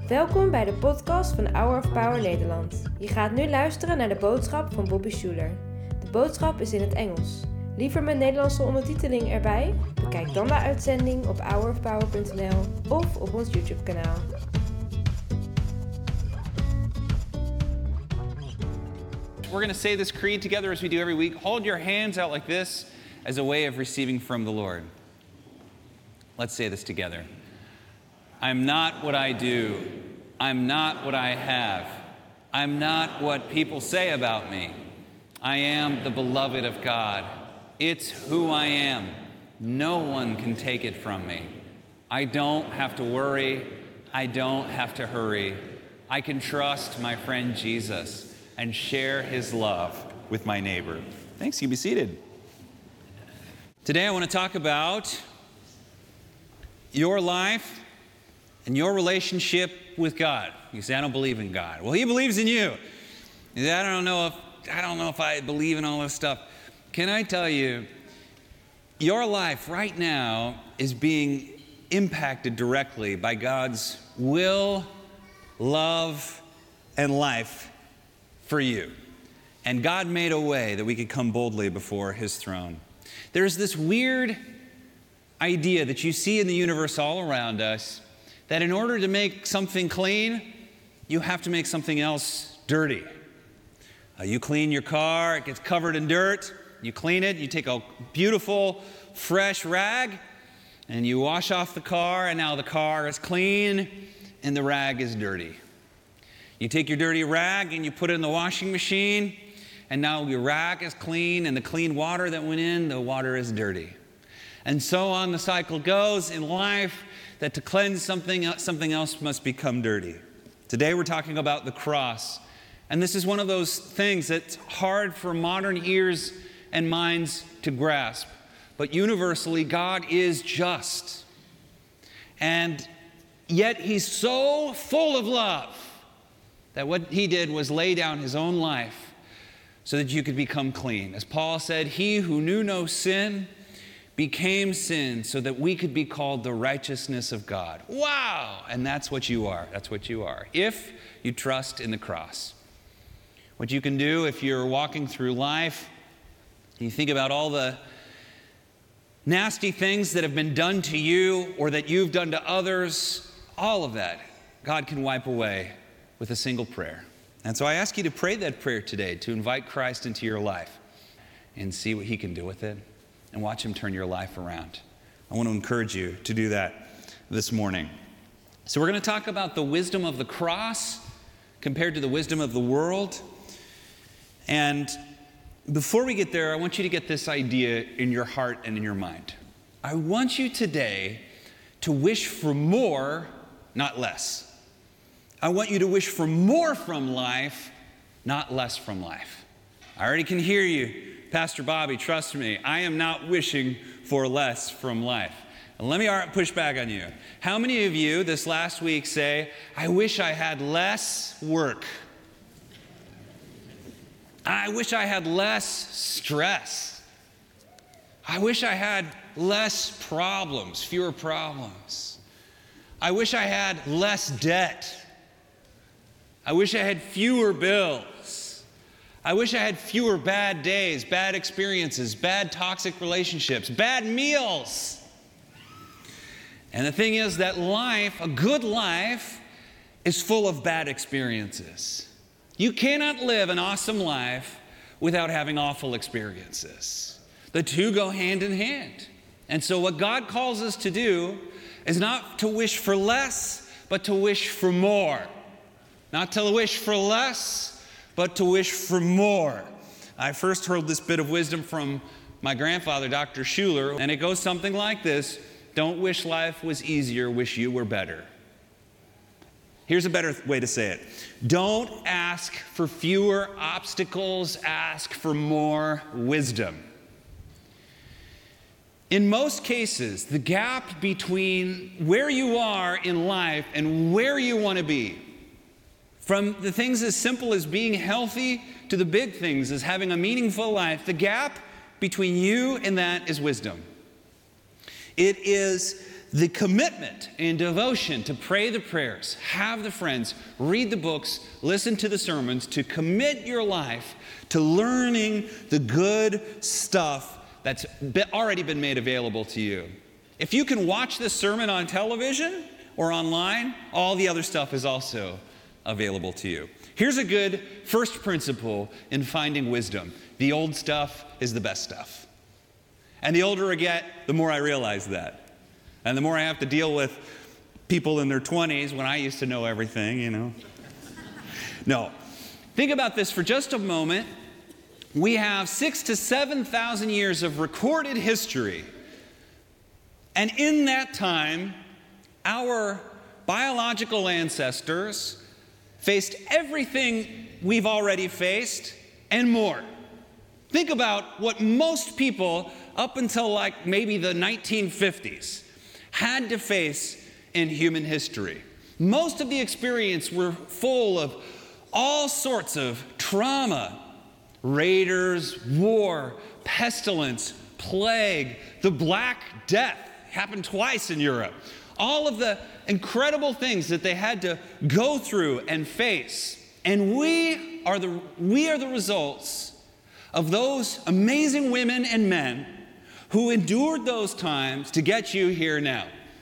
Welkom bij de podcast van Hour of Power Nederland. Je gaat nu luisteren naar de boodschap van Bobby Schuler. De boodschap is in het Engels. Liever met Nederlandse ondertiteling erbij? Bekijk dan de uitzending op hourofpower.nl of op ons YouTube-kanaal. We're going to say this creed together as we do every week. Hold your hands out like this as a way of receiving from the Lord. Let's say this together. I'm not what I do. I'm not what I have. I'm not what people say about me. I am the beloved of God. It's who I am. No one can take it from me. I don't have to worry. I don't have to hurry. I can trust my friend Jesus and share his love with my neighbor. Thanks, you be seated. Today I want to talk about your life and your relationship with God. You say, I don't believe in God. Well, he believes in you. You say, I don't know if I believe in all this stuff. Can I tell you, your life right now is being impacted directly by God's will, love, and life for you. And God made a way that we could come boldly before his throne. There's this weird idea that you see in the universe all around us that in order to make something clean, you have to make something else dirty. You clean your car, it gets covered in dirt, you clean it, you take a beautiful, fresh rag, and you wash off the car, and now the car is clean, and the rag is dirty. You take your dirty rag and you put it in the washing machine, and now your rag is clean, and the clean water that went in, the water is dirty. And so on the cycle goes in life, that to cleanse something else must become dirty. Today we're talking about the cross. And this is one of those things that's hard for modern ears and minds to grasp. But universally, God is just. And yet he's so full of love that what he did was lay down his own life so that you could become clean. As Paul said, he who knew no sin became sin so that we could be called the righteousness of God. Wow! And that's what you are. That's what you are. If you trust in the cross. What you can do if you're walking through life, you think about all the nasty things that have been done to you or that you've done to others, all of that, God can wipe away with a single prayer. And so I ask you to pray that prayer today, to invite Christ into your life and see what he can do with it. And watch him turn your life around. I want to encourage you to do that this morning. So we're going to talk about the wisdom of the cross compared to the wisdom of the world. And before we get there, I want you to get this idea in your heart and in your mind. I want you today to wish for more, not less. I want you to wish for more from life, not less from life. I already can hear you. Pastor Bobby, trust me, I am not wishing for less from life. And let me push back on you. How many of you this last week say, I wish I had less work? I wish I had less stress. I wish I had less problems, fewer problems. I wish I had less debt. I wish I had fewer bills. I wish I had fewer bad days, bad experiences, bad toxic relationships, bad meals. And the thing is that life, a good life, is full of bad experiences. You cannot live an awesome life without having awful experiences. The two go hand in hand. And so what God calls us to do is not to wish for less, but to wish for more. Not to wish for less, but to wish for more. I first heard this bit of wisdom from my grandfather, Dr. Schuler, and it goes something like this: don't wish life was easier, wish you were better. Here's a better way to say it. Don't ask for fewer obstacles, ask for more wisdom. In most cases, the gap between where you are in life and where you want to be, from the things as simple as being healthy to the big things as having a meaningful life, the gap between you and that is wisdom. It is the commitment and devotion to pray the prayers, have the friends, read the books, listen to the sermons, to commit your life to learning the good stuff that's already been made available to you. If you can watch this sermon on television or online, all the other stuff is also available to you. Here's a good first principle in finding wisdom. The old stuff is the best stuff. And the older I get, the more I realize that. And the more I have to deal with people in their 20s when I used to know everything, you know. No. Think about this for just a moment. We have 6,000 to 7,000 years of recorded history. And in that time, our biological ancestors faced everything we've already faced and more. Think about what most people up until like maybe the 1950s had to face in human history. Most of the experience were full of all sorts of trauma, raiders, war, pestilence, plague, the Black Death happened twice in Europe. All of the incredible things that they had to go through and face. And we are the results of those amazing women and men who endured those times to get you here now.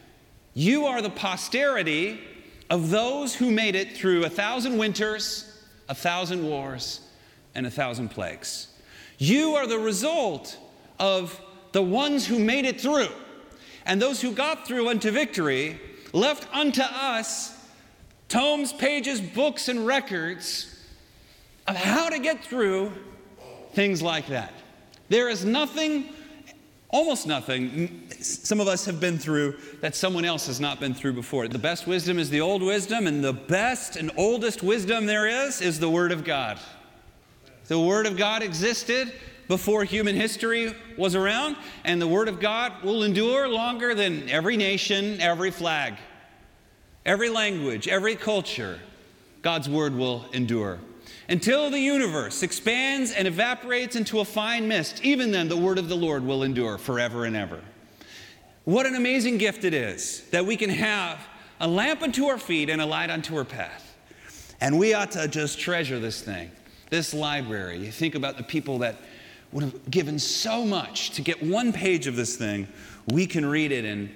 You are the posterity of those who made it through 1,000 winters, 1,000 wars, and 1,000 plagues. You are the result of the ones who made it through. And those who got through unto victory left unto us tomes, pages, books, and records of how to get through things like that. There is nothing, almost nothing, some of us have been through that someone else has not been through before. The best wisdom is the old wisdom, and the best and oldest wisdom there is the Word of God. The Word of God existed before human history was around, and the Word of God will endure longer than every nation, every flag, every language, every culture. God's Word will endure. Until the universe expands and evaporates into a fine mist, even then the Word of the Lord will endure forever and ever. What an amazing gift it is that we can have a lamp unto our feet and a light unto our path. And we ought to just treasure this thing, this library. You think about the people that would have given so much to get one page of this thing. We can read it in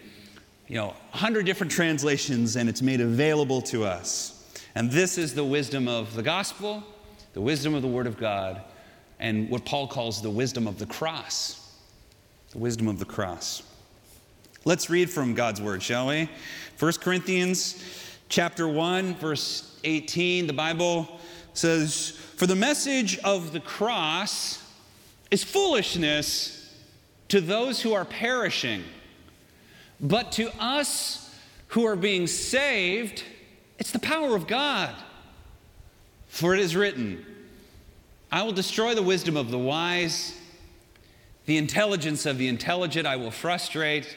100 different translations, and it's made available to us. And this is the wisdom of the gospel, the wisdom of the Word of God, and what Paul calls the wisdom of the cross. The wisdom of the cross. Let's read from God's Word, shall we? 1 Corinthians chapter 1, verse 18, the Bible says, "For the message of the cross is foolishness to those who are perishing, but to us who are being saved, it's the power of God. For it is written, I will destroy the wisdom of the wise, the intelligence of the intelligent I will frustrate.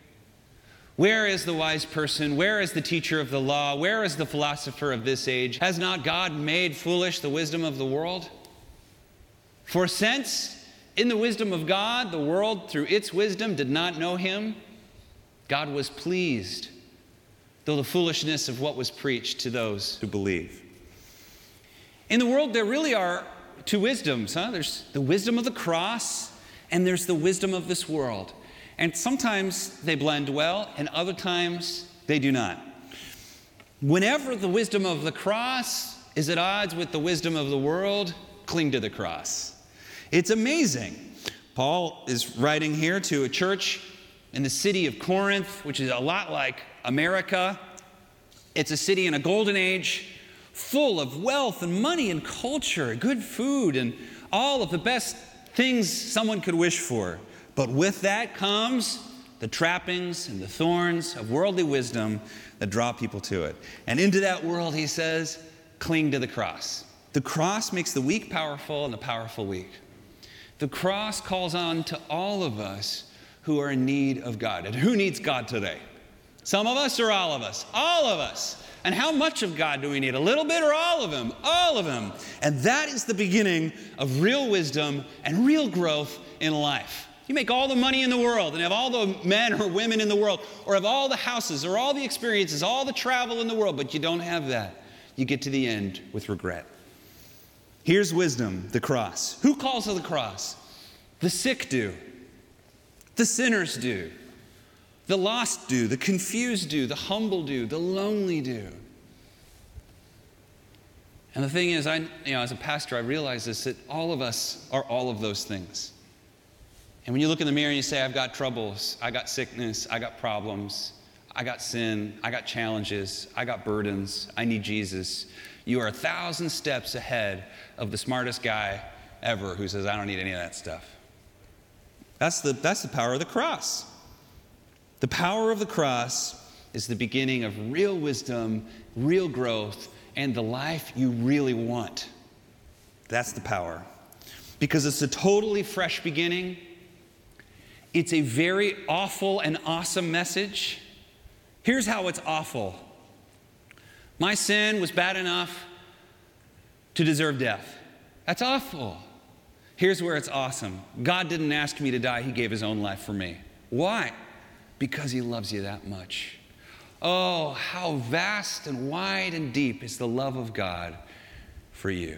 Where is the wise person? Where is the teacher of the law? Where is the philosopher of this age? Has not God made foolish the wisdom of the world? For since in the wisdom of God, the world through its wisdom did not know him, God was pleased, though the foolishness of what was preached to those who believe." In the world, there really are two wisdoms. There's the wisdom of the cross, and there's the wisdom of this world. And sometimes they blend well, and other times they do not. Whenever the wisdom of the cross is at odds with the wisdom of the world, cling to the cross. It's amazing. Paul is writing here to a church in the city of Corinth, which is a lot like America. It's a city in a golden age, full of wealth and money and culture, good food, and all of the best things someone could wish for. But with that comes the trappings and the thorns of worldly wisdom that draw people to it. And into that world, he says, cling to the cross. The cross makes the weak powerful and the powerful weak. The cross calls on to all of us who are in need of God. And who needs God today? Some of us or all of us? All of us. And how much of God do we need? A little bit or all of him? All of him. And that is the beginning of real wisdom and real growth in life. You make all the money in the world and have all the men or women in the world, or have all the houses or all the experiences, all the travel in the world, but you don't have that. You get to the end with regret. Here's wisdom, the cross. Who calls to the cross? The sick do. The sinners do. The lost do. The confused do. The humble do. The lonely do. And the thing is, as a pastor, I realize this, that all of us are all of those things. And when you look in the mirror and you say, I've got troubles, I got sickness, I got problems, I got sin, I got challenges, I got burdens, I need Jesus, you are 1,000 steps ahead of the smartest guy ever who says, I don't need any of that stuff. That's the power of the cross. The power of the cross is the beginning of real wisdom, real growth, and the life you really want. That's the power. Because it's a totally fresh beginning. It's a very awful and awesome message. Here's how it's awful. My sin was bad enough to deserve death. That's awful. Here's where it's awesome. God didn't ask me to die. He gave his own life for me. Why? Because he loves you that much. Oh, how vast and wide and deep is the love of God for you.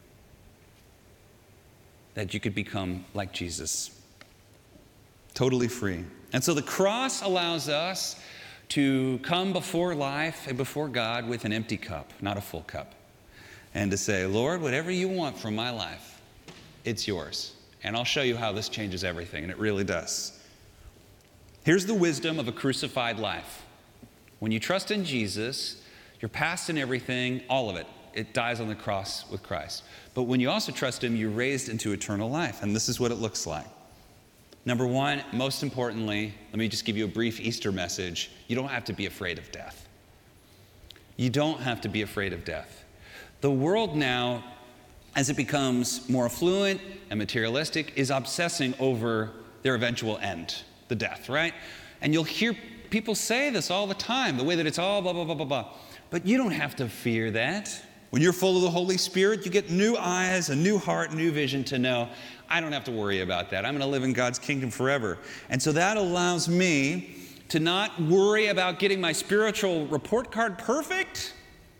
That you could become like Jesus. Totally free. And so the cross allows us to come before life and before God with an empty cup, not a full cup. And to say, Lord, whatever you want from my life, it's yours. And I'll show you how this changes everything. And it really does. Here's the wisdom of a crucified life. When you trust in Jesus, your past and everything, all of it, it dies on the cross with Christ. But when you also trust him, you're raised into eternal life. And this is what it looks like. Number one, most importantly, let me just give you a brief Easter message. You don't have to be afraid of death. You don't have to be afraid of death. The world now, as it becomes more affluent and materialistic, is obsessing over their eventual end, the death, right? And you'll hear people say this all the time, the way that it's all blah, blah, blah, blah, blah. But you don't have to fear that. When you're full of the Holy Spirit, you get new eyes, a new heart, new vision to know, I don't have to worry about that. I'm going to live in God's kingdom forever. And so that allows me to not worry about getting my spiritual report card perfect.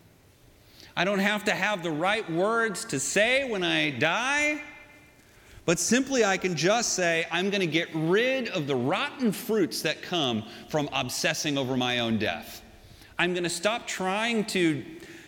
I don't have to have the right words to say when I die. But simply I can just say, I'm going to get rid of the rotten fruits that come from obsessing over my own death. I'm going to stop trying to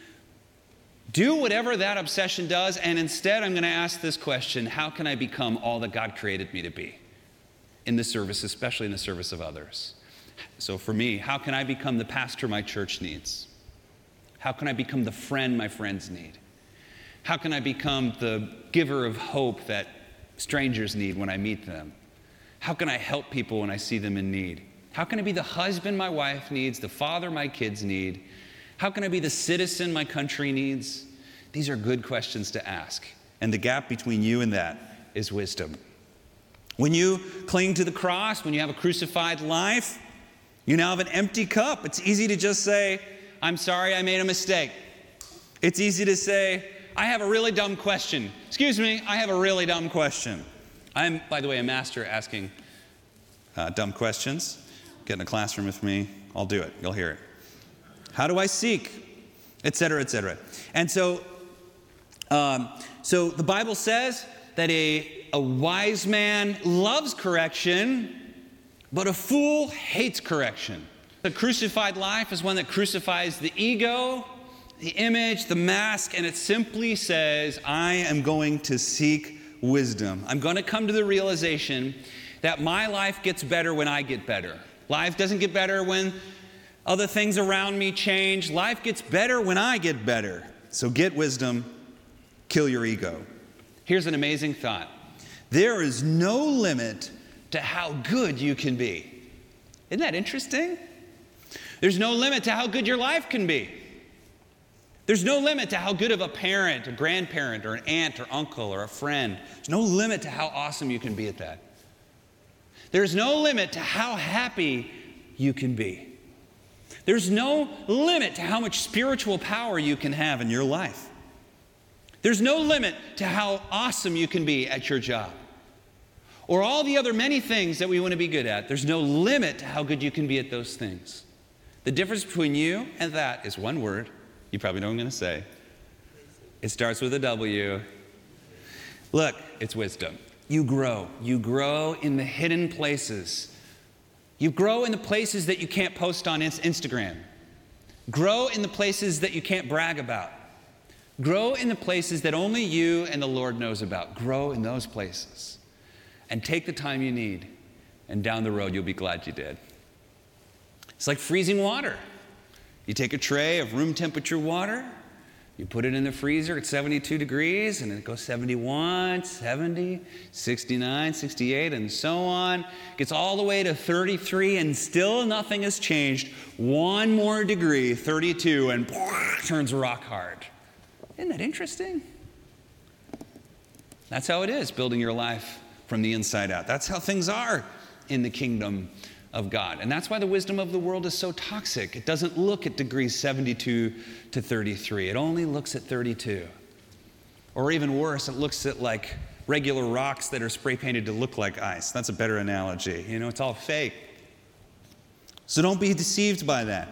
do whatever that obsession does, and instead I'm going to ask this question: how can I become all that God created me to be in the service, especially in the service of others? So for me, how can I become the pastor my church needs? How can I become the friend my friends need? How can I become the giver of hope that strangers need when I meet them? How can I help people when I see them in need? How can I be the husband my wife needs, the father my kids need? How can I be the citizen my country needs? These are good questions to ask. And the gap between you and that is wisdom. When you cling to the cross, when you have a crucified life, you now have an empty cup. It's easy to just say, I'm sorry, I made a mistake. It's easy to say, I have a really dumb question. Excuse me, I have a really dumb question. I'm, by the way, a master at asking dumb questions. Get in a classroom with me, I'll do it. You'll hear it. How do I seek? Et cetera, et cetera. And so the Bible says that a wise man loves correction, but a fool hates correction. The crucified life is one that crucifies the ego, the image, the mask, and it simply says, I am going to seek wisdom. I'm going to come to the realization that my life gets better when I get better. Life doesn't get better when other things around me change. Life gets better when I get better. So get wisdom, kill your ego. Here's an amazing thought. There is no limit to how good you can be. Isn't that interesting? There's no limit to how good your life can be. There's no limit to how good of a parent, a grandparent, or an aunt, or uncle, or a friend. There's no limit to how awesome you can be at that. There's no limit to how happy you can be. There's no limit to how much spiritual power you can have in your life. There's no limit to how awesome you can be at your job, or all the other many things that we want to be good at. There's no limit to how good you can be at those things. The difference between you and that is one word. You probably know what I'm going to say. It starts with a W. Look, it's wisdom. You grow. You grow in the hidden places. You grow in the places that you can't post on Instagram. Grow in the places that you can't brag about. Grow in the places that only you and the Lord knows about. Grow in those places. And take the time you need. And down the road, you'll be glad you did. It's like freezing water. You take a tray of room temperature water, you put it in the freezer at 72 degrees, and it goes 71, 70, 69, 68, and so on. Gets all the way to 33, and still nothing has changed. One more degree, 32, and turns rock hard. Isn't that interesting? That's how it is, building your life from the inside out. That's how things are in the kingdom of God. And that's why the wisdom of the world is so toxic. It doesn't look at degrees 72 to 33. It only looks at 32. Or even worse, it looks at like regular rocks that are spray painted to look like ice. That's a better analogy. You know, it's all fake. So don't be deceived by that.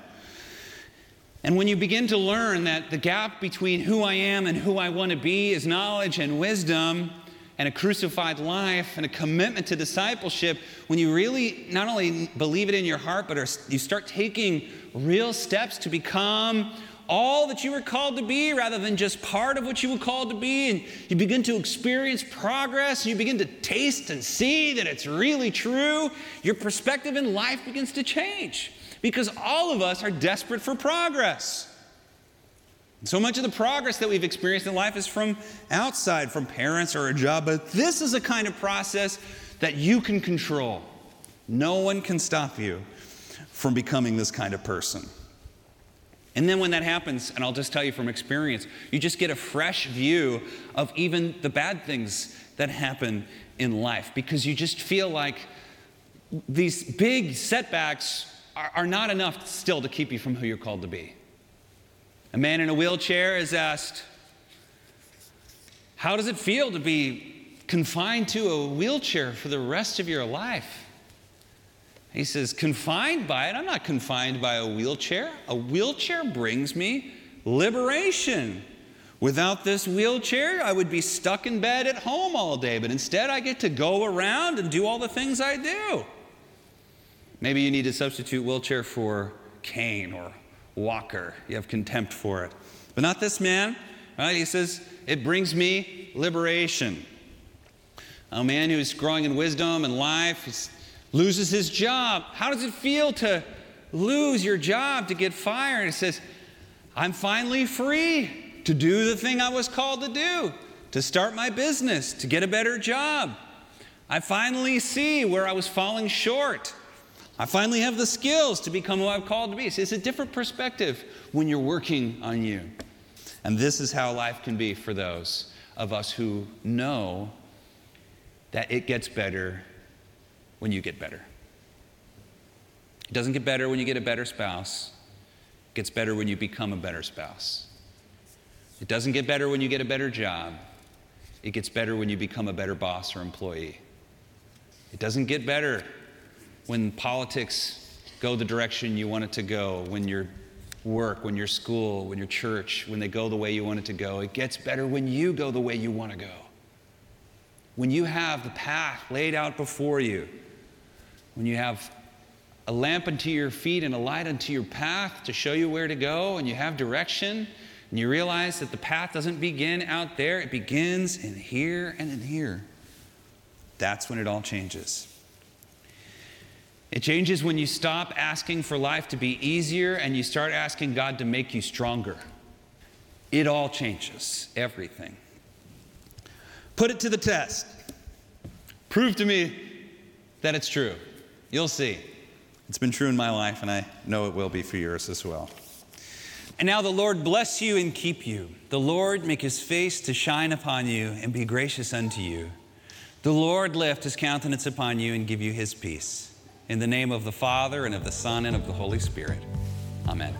And when you begin to learn that the gap between who I am and who I want to be is knowledge and wisdom, and a crucified life, and a commitment to discipleship, when you really not only believe it in your heart, but you start taking real steps to become all that you were called to be rather than just part of what you were called to be, and you begin to experience progress, and you begin to taste and see that it's really true, your perspective in life begins to change. Because all of us are desperate for progress. So much of the progress that we've experienced in life is from outside, from parents or a job, but this is a kind of process that you can control. No one can stop you from becoming this kind of person. And then when that happens, and I'll just tell you from experience, you just get a fresh view of even the bad things that happen in life, because you just feel like these big setbacks are not enough still to keep you from who you're called to be. A man in a wheelchair is asked, how does it feel to be confined to a wheelchair for the rest of your life? He says, confined by it? I'm not confined by a wheelchair. A wheelchair brings me liberation. Without this wheelchair, I would be stuck in bed at home all day, but instead I get to go around and do all the things I do. Maybe you need to substitute wheelchair for cane or walker. You have contempt for it. But not this man. Right? He says, it brings me liberation. A man who's growing in wisdom and life loses his job. How does it feel to lose your job, to get fired? He says, I'm finally free to do the thing I was called to do, to start my business, to get a better job. I finally see where I was falling short. I finally have the skills to become who I'm called to be. So it's a different perspective when you're working on you. And this is how life can be for those of us who know that it gets better when you get better. It doesn't get better when you get a better spouse. It gets better when you become a better spouse. It doesn't get better when you get a better job. It gets better when you become a better boss or employee. It doesn't get better when politics go the direction you want it to go, when your work, when your school, when your church, when they go the way you want it to go. It gets better when you go the way you want to go. When you have the path laid out before you, when you have a lamp unto your feet and a light unto your path to show you where to go, and you have direction, and you realize that the path doesn't begin out there, it begins in here and in here. That's when it all changes. It changes when you stop asking for life to be easier and you start asking God to make you stronger. It all changes, everything. Put it to the test. Prove to me that it's true. You'll see. It's been true in my life, and I know it will be for yours as well. And now the Lord bless you and keep you. The Lord make his face to shine upon you and be gracious unto you. The Lord lift his countenance upon you and give you his peace. In the name of the Father, and of the Son, and of the Holy Spirit. Amen.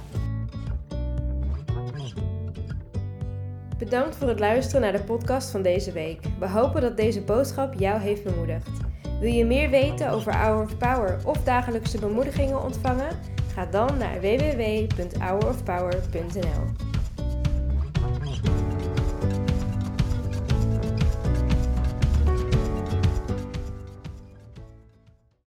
Bedankt voor het luisteren naar de podcast van deze week. We hopen dat deze boodschap jou heeft bemoedigd. Wil je meer weten over Hour of Power of dagelijkse bemoedigingen ontvangen? Ga dan naar www.hourofpower.nl.